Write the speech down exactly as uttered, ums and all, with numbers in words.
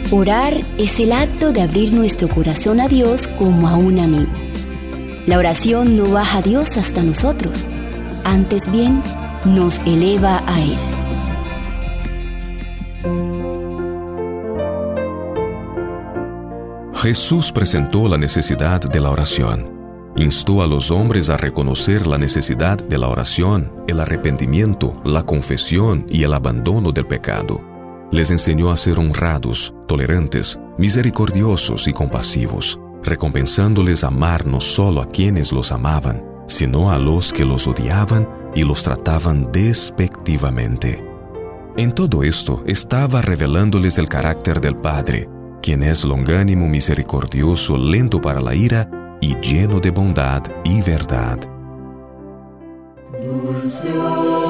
Orar es el acto de abrir nuestro corazón a Dios como a un amigo. La oración no baja a Dios hasta nosotros, antes bien nos eleva a Él. Jesús presentó la necesidad de la oración. Instó a los hombres a reconocer la necesidad de la oración, el arrepentimiento, la confesión y el abandono del pecado. Les enseñó a ser honrados, tolerantes, misericordiosos y compasivos, recompensándoles amar no solo a quienes los amaban, sino a los que los odiaban y los trataban despectivamente. En todo esto estaba revelándoles el carácter del Padre, quien es longánimo, misericordioso, lento para la ira y lleno de bondad y verdad. Dulce